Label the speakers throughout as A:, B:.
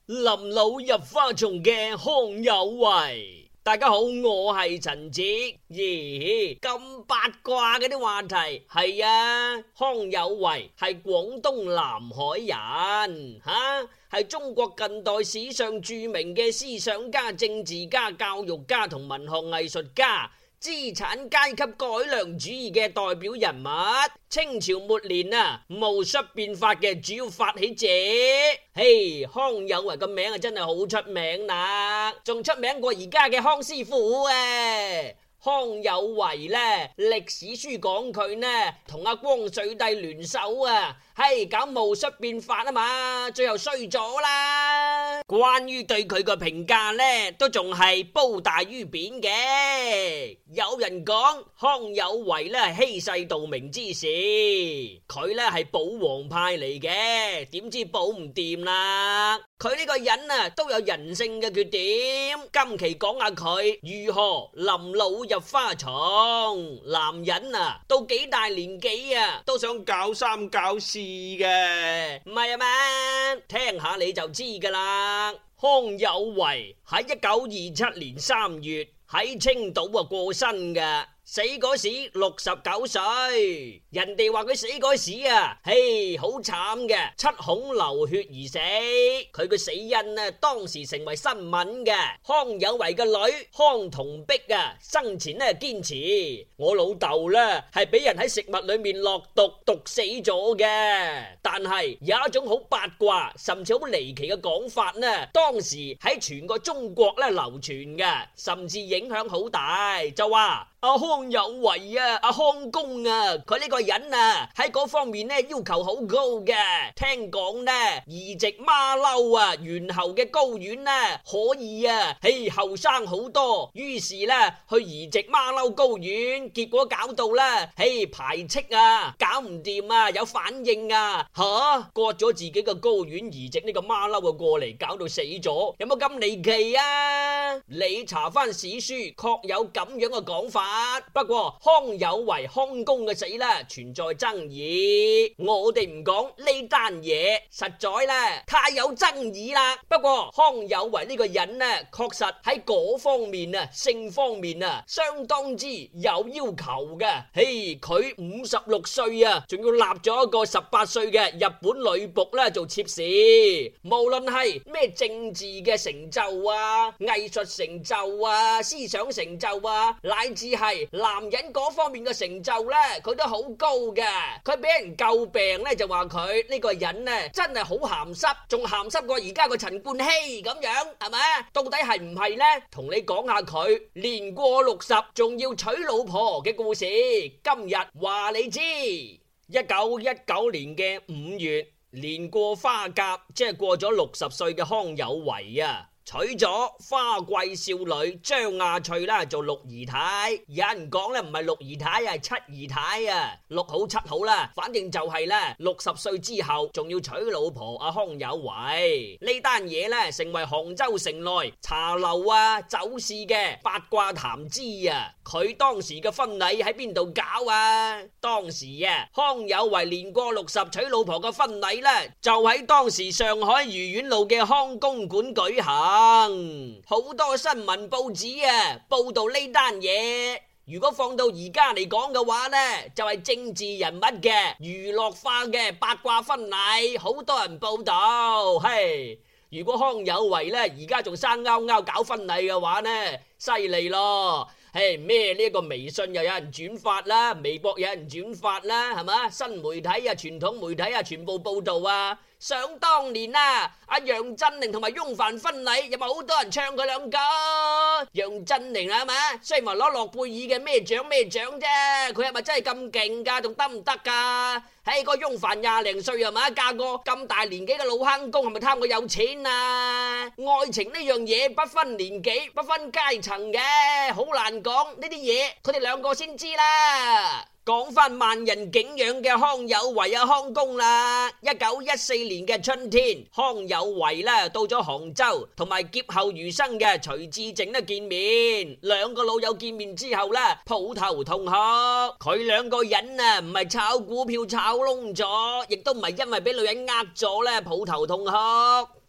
A: 臨老入花叢嘅康有為。大家好，我係陳子。咦，咁八卦嘅啲話題。係啊，康有為係廣東南海人，係中國近代史上著名嘅思想家、政治家、教育家同文學藝術家，資產階級改良主義嘅代表人物，清朝末年戊戌變法嘅主要發起者。嘿，康有為個名真係好出名啦，仲出名過而家嘅康師傅啊！康有為呢，歷史書講佢呢同阿光緒帝聯手搞戊戌變法啊嘛，最後衰咗啦。關於對佢個評價呢，都仲係褒大於貶嘅。有人講康有為呢係欺世盜名之士，佢呢係保皇派嚟嘅，點知保唔掂啦。佢呢個人都有人性嘅缺點，今期講下佢如何臨老入花叢。男人到幾大年紀都想搞三搞四嘅，唔係啊嘛？聽下你就知噶啦。康有為喺1927年3月喺青島過身嘅。死嗰時69歲，人哋話佢死嗰時好慘嘅，七孔流血而死。佢個死因當時成為新聞嘅。康有為嘅女康同碧生前堅持，我老豆係俾人喺食物裏面落毒，毒死咗嘅。但係有一種好八卦甚至好離奇嘅講法當時喺全個中國流傳嘅，甚至影響好大，就話康有為康公佢呢個人喺嗰方面要求好高嘅。聽講移植馬騮猿猴嘅睾丸可以後生好多，於是去移植馬騮睾丸，結果搞到排斥搞唔掂有反應割咗自己嘅睾丸移植呢個馬騮過嚟，搞到死咗，有冇咁離奇啊？你查翻史書確有咁樣嘅講法。不過康有為康公嘅死存在爭議，我哋唔講呢單嘢，實在太有爭議啦。不過康有為呢個人確實喺嗰方面性方面相當之有要求嘅。佢56歲仲要立咗一個18歲嘅日本女僕做妾侍。無論係咩政治嘅成就藝術成就思想成就乃至係男人嗰方面嘅成就佢都好高嘅。佢俾人詬病就話佢呢個人真係好鹹濕，仲鹹濕過而家個陳冠希咁樣，係咪？到底係唔係呢？同你講下佢年過60仲要娶老婆嘅故事。今日話你知，1919年嘅5月，年過花甲，即係過咗60歲嘅康有為娶咗花季少女張亞翠做六姨太。有人講唔係六姨太係七姨太六好七好啦，反正就係60歲之後仲要娶老婆康有為。呢單嘢成為杭州城內茶樓酒肆嘅八卦談資佢當時嘅婚禮喺邊度搞當時康有為年過60娶老婆嘅婚禮就喺當時上海愉園路嘅康公館舉行。好多新聞報紙報道呢單嘢。如果放到而家嚟講嘅話就係政治人物嘅娛樂化嘅八卦婚禮，好多人報道。如果康有為而家仲生勾勾搞婚禮嘅話犀利咯。咩呢個微信又有人轉發啦，微博有人轉發啦，係嘛？新媒體傳統媒體全部報道想當年阿楊振寧同埋翁帆婚禮有冇好多人唱佢兩個？楊振寧係嘛？雖然話攞諾貝爾嘅咩獎啫，佢係咪真係咁勁噶？仲得唔得噶？個翁帆20零歲係嘛？嫁個咁大年紀嘅老坑公，係咪貪佢有錢愛情呢樣嘢不分年紀不分階層嘅，好難講呢啲嘢，佢哋兩個先知啦。講翻萬人景仰嘅康有為康公啦。1914年嘅春天，康有為到咗杭州，同埋劫後餘生嘅徐志靜見面。兩個老友見面之後抱頭痛哭。佢兩個人唔係炒股票炒窿咗，亦都唔係因為俾女人呃咗抱頭痛哭。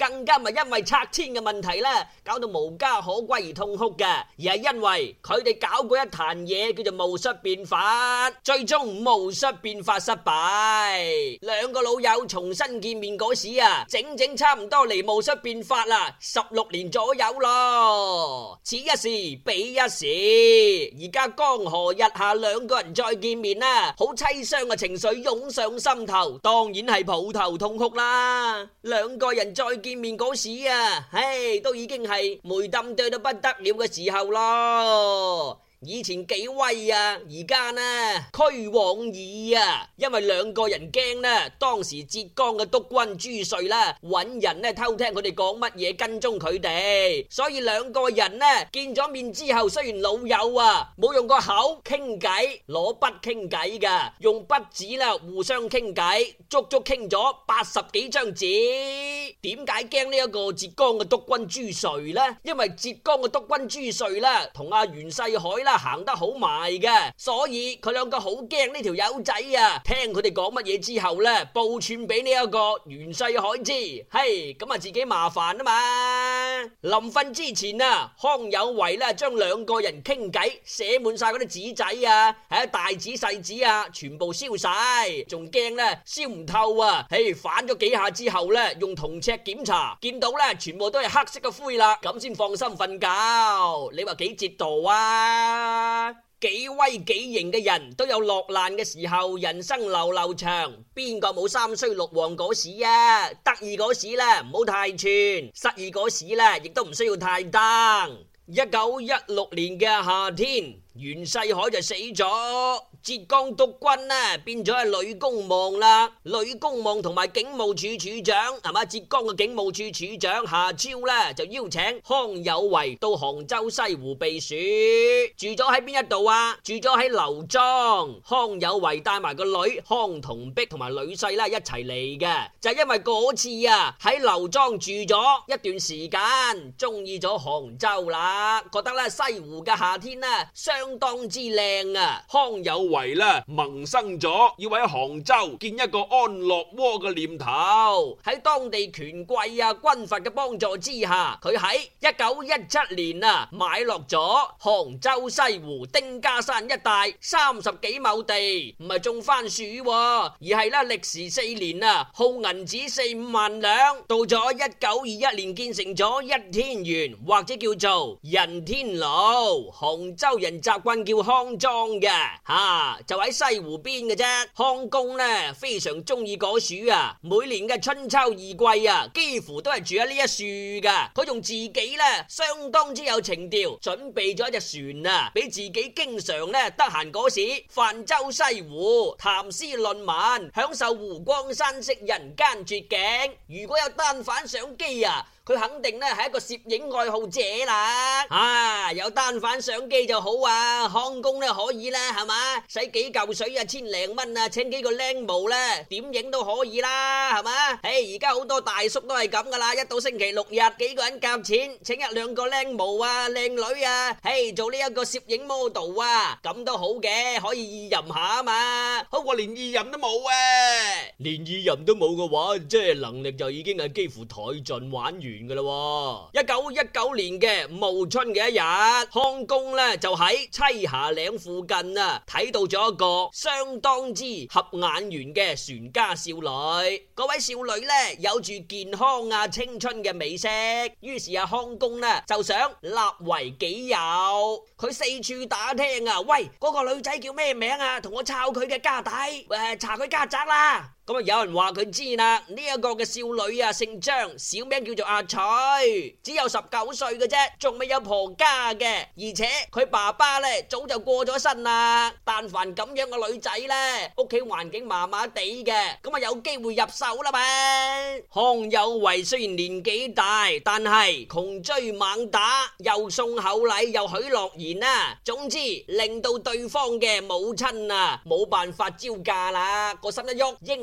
A: 更加唔係因為拆遷嘅問題啦，搞到無家可歸而痛哭嘅，而係因為佢哋搞過一壇嘢叫做戊戌變法，最終戊戌變法失敗。兩個老友重新見面嗰時啊，整整差唔多離戊戌變法啦16年左右咯。此一時彼一時，而家江河日下，兩個人再見面啦，好淒傷嘅情緒湧上心頭，當然係抱頭痛哭啦。兩個人再見面嗰時啊，都已經係梅冧對到不得了嘅時候咯。以前幾威啊，而家呢屈往矣啊！因為兩個人驚呢，當時浙江嘅督軍朱瑞啦，揾人呢偷聽佢哋講乜嘢，跟蹤佢哋，所以兩個人呢見咗面之後，雖然老友啊，冇用個口傾偈，攞筆傾偈噶，用筆紙啦互相傾偈，足足傾咗80幾張紙。點解驚呢一個浙江嘅督軍朱瑞呢？因為浙江嘅督軍朱瑞啦，同阿袁世凱啦行得好埋嘅，所以佢兩個好驚呢條友仔啊！聽佢哋講乜嘢之後呢，報串俾呢一個袁世凱知，咁啊自己麻煩啊嘛！臨瞓之前啊，康有為咧將兩個人傾偈寫滿晒嗰啲紙仔啊，大紙細紙啊，全部燒晒，仲驚咧燒唔透啊！反咗幾下之後咧，用銅尺檢查，見到咧全部都係黑色嘅灰啦，咁先放心瞓覺。你話幾折墮啊？幾威幾型嘅人都有落難嘅時候，人生流流長，邊個冇三衰六旺嗰時啊？得意嗰時咧唔好太串，失意嗰時咧亦都唔需要太登。1916年嘅夏天，袁世凱就死咗，浙江督軍呢變咗係呂公望啦。呂公望同埋警務處處長係嘛，浙江嘅警務處處長夏超呢就邀請康有為到杭州西湖避暑，住咗喺邊一度啊？住咗喺劉莊。康有為帶埋個女康同璧同埋女婿啦一齊嚟嘅，就係因為嗰次啊喺劉莊住咗一段時間，中意咗杭州啦，覺得咧西湖嘅夏天呢相當之靚啊！康有為咧萌生咗要喺杭州建一個安樂窩嘅念頭。喺當地權貴啊軍閥嘅幫助之下，佢喺1917年啊買落咗杭州西湖丁家山一帶30幾畝地，唔係種番薯，而係咧歷時4年啊耗銀紙4-5萬兩。到咗1921年建成咗一天園，或者叫做人天樓。杭州人習慣叫康莊嘅，就喺西湖邊嘅啫。康公呢非常中意果樹啊，每年嘅春秋二季啊，幾乎都係住喺呢一樹噶。佢仲自己呢相當之有情調，準備咗一隻船啊，俾自己經常呢得閒嗰時泛舟西湖，談詩論文，享受湖光山色人間絕景。如果有單反相機啊，佢肯定咧係一個攝影愛好者啦，有單反相機就好啊，康公咧可以啦，係嘛，使幾嚿水啊，1000零蚊啊，請幾個靚模咧，點影都可以啦，係嘛，而家好多大叔都係咁噶啦，一到星期六日，幾個人夾錢，請一兩個靚模啊，靚女啊，做呢一個攝影 model 啊，咁都好嘅，可以意淫下啊嘛，好過連意淫都冇啊，連意淫都冇嘅話，即係能力就已經係幾乎殆盡玩完噶啦。1919年嘅暮春嘅一日，康公咧就喺棲霞嶺附近啊睇到咗一個相當之合眼緣嘅船家少女。嗰位少女咧有住健康啊青春嘅美色，於是康公咧就想立為己有。佢四處打聽啊，喂，嗰個女仔叫咩名啊？同我抄佢嘅家底，查佢家宅啦。咁有人話佢知啦，呢一個嘅少女啊姓張，小名叫做阿翠，只有19歲嘅啫，仲未有婆家嘅，而且佢爸爸咧早就過咗身啦。但凡咁樣嘅女仔咧，屋企環境麻麻地嘅，咁有機會入手啦嘛。康有為雖然年紀大，但係窮追猛打，又送厚禮又許諾言啊，總之令到對方嘅母親啊冇辦法招架啦，個心一喐，應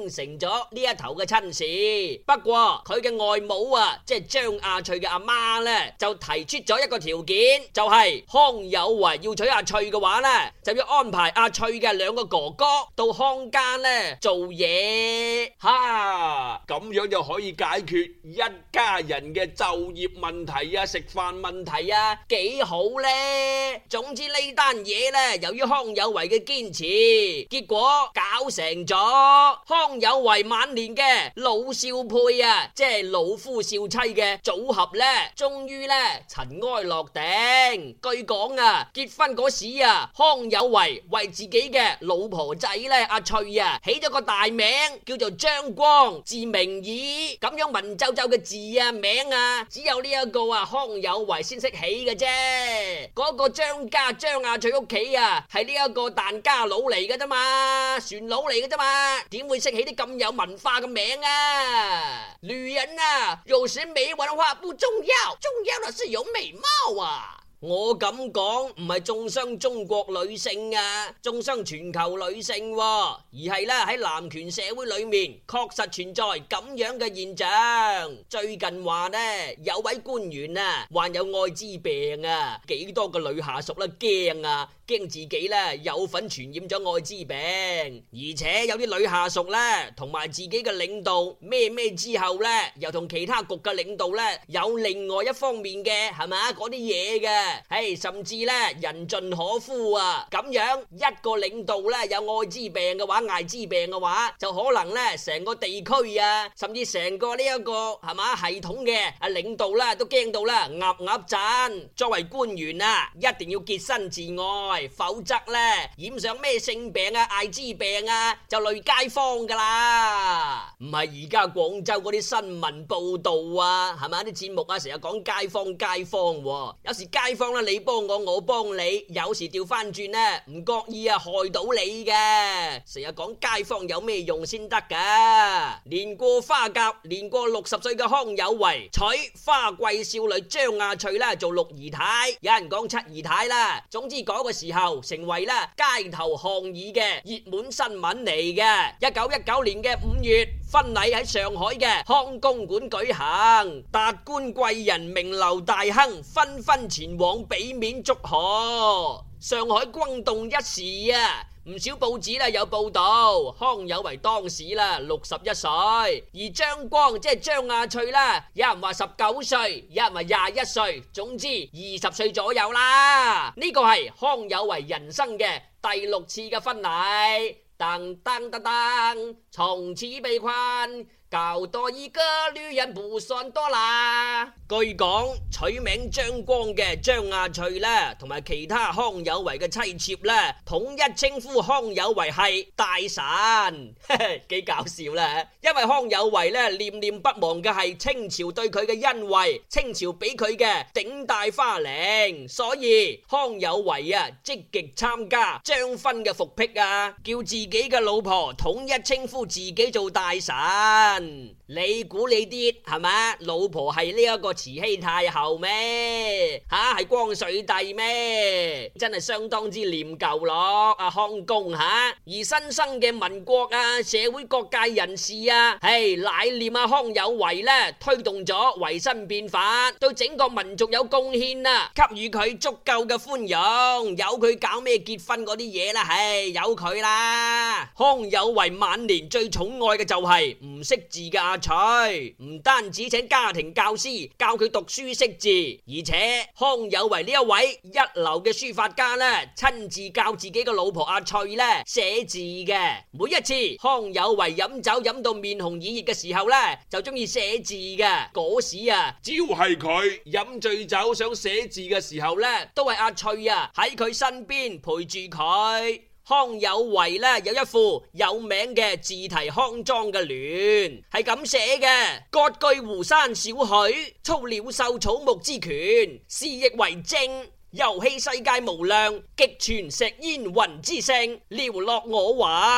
A: 應承咗呢一頭嘅親事。不過佢嘅外母啊，即係張亞翠嘅阿媽呢，就提出咗一個條件，就係康有為要娶阿翠嘅話呢，就要安排阿翠嘅兩個哥哥到康家呢做嘢。
B: 哈，咁樣就可以解決一家人嘅就業問題啊、食飯問題啊，
A: 幾好呢。總之呢單嘢呢，由於康有為嘅堅持，結果搞成咗康有為晚年嘅老少配啊，即係老夫少妻嘅組合呢，終於呢塵埃落定。據講啊，結婚嗰時啊，康有為為自己嘅老婆仔呢阿翠啊起咗個大名叫做張光，字明義，咁樣文縐縐嘅字啊名啊，只有呢一個啊康有為先識起嘅啫。嗰個張家張亞翠屋企啊，係呢一個疍家佬嚟嘅啫嘛，船佬嚟嘅啫嘛，點會識起啲咁有文化嘅名啊？女人啊，有時沒文化不重要，重要的是有美貌啊！我咁講唔係中傷中國女性啊，中傷全球女性啊，而係咧喺男權社會裏面確實存在咁樣嘅現象。最近話呢，有位官員啊患有艾滋病啊，幾多個女下屬咧驚啊，驚自己咧有份傳染咗艾滋病，而且有啲女下屬咧同埋自己嘅領導咩之後咧，又同其他局嘅領導咧有另外一方面嘅係咪嗰啲嘢嘅。甚至咧人盡可夫啊！咁樣一個領導咧有艾滋病嘅話，艾滋病嘅話，就可能咧成個地區啊，甚至成個呢一個係嘛系統嘅領導啦，都驚到啦鴨震。作為官員啊，一定要潔身自愛，否則咧染上咩性病啊、艾滋病啊，就累街坊噶啦。唔係而家廣州嗰啲新聞報道啊，係咪啲節目啊，成日講街坊，有時街坊啦，你幫我，我幫你，有時調翻轉咧，唔覺意啊害到你嘅。成日講街坊有咩用先得噶？年過花甲，年過60歲嘅康有為娶花季少女張亞翠啦做六姨太，有人講七姨太啦。總之嗰個時候成為啦街頭巷議嘅熱門新聞嚟嘅。1919年嘅5月，婚禮喺上海嘅康公館舉行，達官貴人、名流大亨紛紛前往俾面祝賀，上海轟動一時啊！唔少報紙啦有報道，康有為當時啦61歲，而張光即係張亞翠啦，有人話19歲，有人話21歲，總之20歲左右啦。呢個係康有為人生嘅第6次嘅婚禮。噔噔噔噔，從此被困，搞多一個女人不算多啦。據講取名張光嘅張亞翠啦，同埋其他康有為嘅妻妾啦，統一稱呼康有為係大神，幾搞笑啦！因為康有為咧念念不忘嘅係清朝對佢嘅恩惠，清朝俾佢嘅頂戴花翎，所以康有為啊積極參加張勳嘅復辟啊，叫自己嘅老婆統一稱呼自己做大神。你估你啲係咪老婆係呢一個慈禧太后咩？係光緒帝咩？真係相當之念舊咯，阿康公而新生嘅民國啊，社會各界人士啊，乃念阿康有為咧推動咗維新變法，對整個民族有貢獻啊，給予佢足夠嘅寬容，由佢搞咩結婚嗰啲嘢啦，由佢啦。康有為晚年最寵愛嘅就係唔識字嘅阿翠，唔單止請家庭教師教佢讀書識字，而且康有為呢一位一流嘅書法家咧，親自教自己嘅老婆阿翠咧寫字嘅。每一次康有為飲酒飲到面紅耳熱嘅時候咧，就中意寫字嘅。嗰時啊，
B: 只要係佢飲醉酒想寫字嘅時候咧，
A: 都係阿翠啊喺佢身邊陪住佢。康有為咧有一副有名嘅自題康莊嘅聯，係咁寫嘅：割據湖山少許，操鳥獸草木之權，肆意為政，遊戲世界無量，極傳石煙雲之聲，寥落我魂。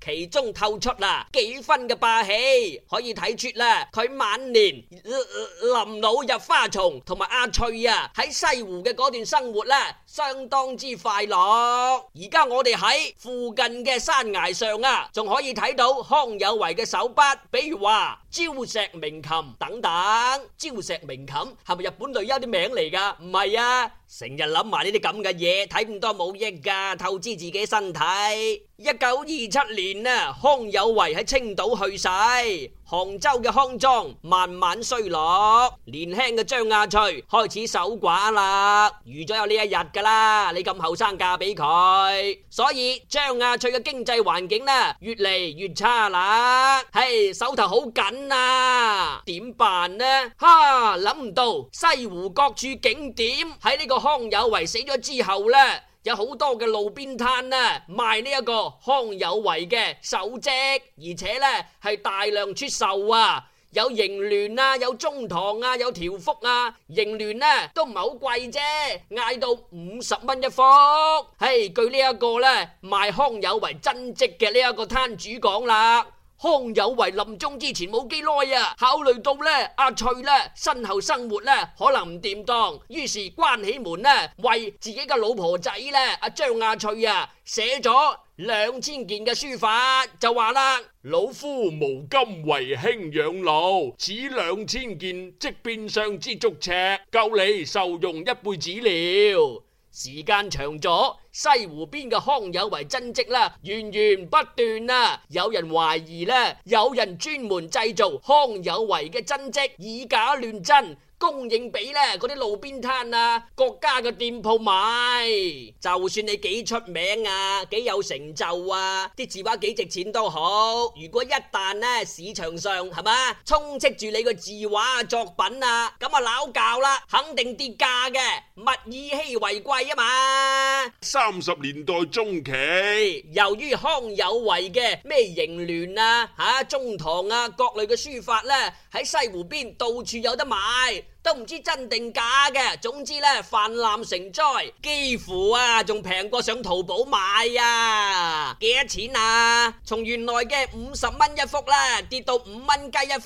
A: 其中透出幾分嘅霸氣，可以睇出佢晚年臨老入花叢同埋阿翠喺西湖嘅嗰段生活相當之快樂。而家我哋喺附近嘅山崖上仲可以睇到康有為嘅手筆，比如話焦石鳴琴等等。焦石鳴琴係咪日本女優啲名嚟噶？唔係啊，成日諗埋呢啲咁嘅嘢，睇咁多冇益噶，透支自己身體。1927年康有為喺青島去世，杭州嘅康莊慢慢衰落，年輕嘅張亞翠開始守寡啦，預咗有呢一日噶啦，你咁後生嫁俾佢，所以張亞翠嘅經濟環境越嚟越差啦，手頭好緊啊，點辦呢？諗唔到西湖各處景點喺呢個康有為死咗之後有好多嘅路邊攤賣呢一個康有為嘅手跡，而且係大量出售啊，有盈聯有中堂有條幅盈聯都唔係好貴啫，嗌到50蚊一幅。據呢一個賣康有為真跡嘅呢一個攤主講啦，康有為臨終之前冇幾耐考慮到阿翠身後生活可能唔掂當，於是關起門為自己嘅老婆仔阿張亞翠寫咗2000件嘅書法，就話啦：
B: 老夫無今為兄養老，此2000件即變相之足尺，夠你受用一輩子了。
A: 時間長咗，西湖邊嘅康有為真跡源源不斷有人懷疑有人專門製造康有為嘅真跡，以假亂真，供應俾嗰啲路邊攤國家嘅店鋪買。就算你幾出名幾有成就啲字畫幾值錢都好，如果一旦市場上係嘛充斥住你個字畫作品咁鬧教啦，肯定跌價嘅，物以稀為貴嘛。
B: 30年代中期，
A: 由於康有為嘅咩盈聯中堂各類嘅書法喺西湖邊到處有得買，都唔知真定假嘅，總之泛濫成災，幾乎仲平過上淘寶買幾多錢啊？從原來嘅50蚊一幅跌到5蚊雞一幅，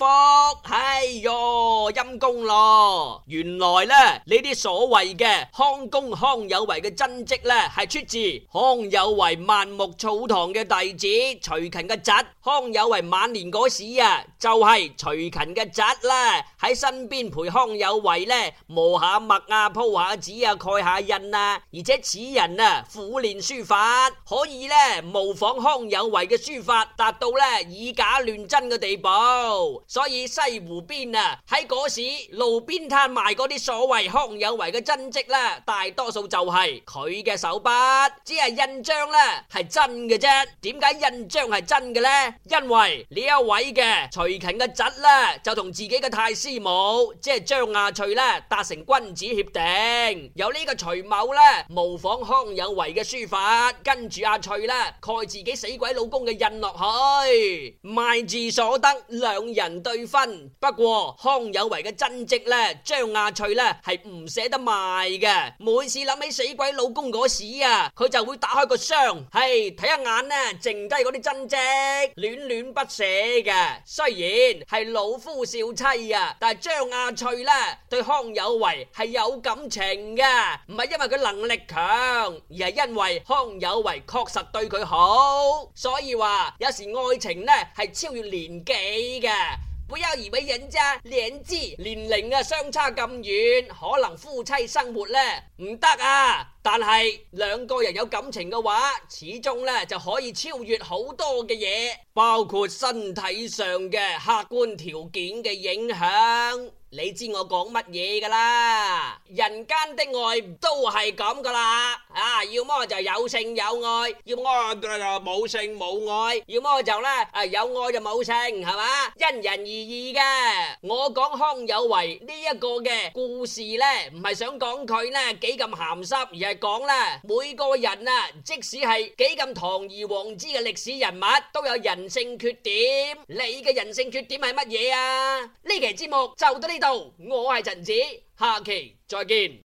A: 陰公咯！原來呢啲所謂嘅康公康有為嘅真跡係出自康有為萬木草堂嘅弟子徐勤嘅侄。康有為晚年嗰時就係徐勤嘅侄喺身邊陪康有為磨下墨鋪下紙蓋下印而且此人苦練書法，可以模仿康有為嘅書法，達到以假亂真嘅地步。所以西湖邊喺嗰時路邊攤賣嗰啲所謂康有為嘅真跡大多數就係佢嘅手筆，只係印章係真嘅啫。點解印章係真嘅呢？因為呢一位嘅徐勤嘅侄就同自己嘅太師母即係張亞翠達成君子協定，由呢個徐某模仿康有為嘅書法，跟住阿翠蓋自己死鬼老公嘅印落去，賣字所得兩人對分。不過康有為嘅真跡張亞翠係唔捨得賣嘅，每次諗起死鬼老公嗰時佢就會打開個箱睇一眼剩低嗰啲真跡，戀戀不捨嘅。雖然係老夫少妻但係張亞翠對康有為係有感情嘅，唔係因為佢能力強，而係因為康有為確實對佢好。所以話有時愛情係超越年紀嘅，不要以為人家年齡相差咁遠，可能夫妻生活唔得但係兩個人有感情嘅話，始終就可以超越好多嘅嘢，包括身體上嘅客觀條件嘅影響。你知我講乜嘢噶啦？人間的愛都係咁噶啦，要麼就有性有愛，要麼就冇性冇愛，要麼就有愛就冇性，係嘛？因人而異嘅。我講康有為呢一個嘅故事唔係想講佢幾咁鹹濕，而係講每個人即使係幾咁堂而皇之嘅歷史人物，都有人性缺點。你嘅人性缺點係乜嘢啊？呢期節目就到呢度，我係陳子，下期再見。